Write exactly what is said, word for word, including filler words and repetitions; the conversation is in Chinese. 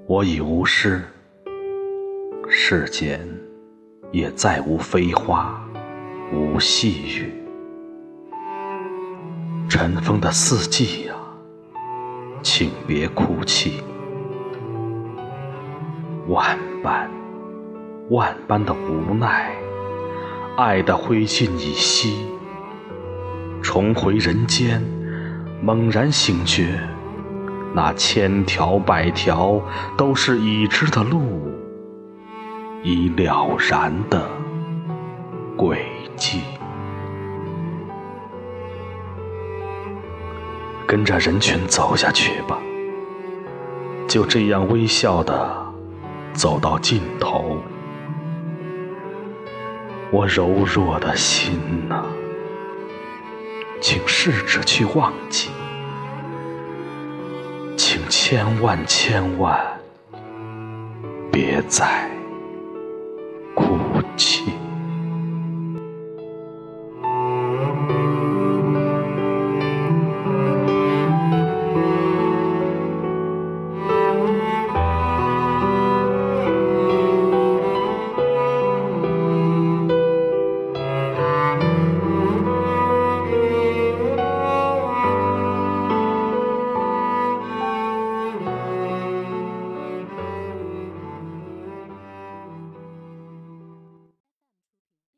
我已无诗，世间也再无飞花，无细雨。尘封的四季呀，请别哭泣。万般万般的无奈，爱的灰烬已熄。重回人间，猛然醒觉，那千条百条都是已知的路，已了然的轨迹。跟着人群走下去吧，就这样微笑地走到尽头。我柔弱的心啊，请试着去忘记，请千万千万别再哭泣。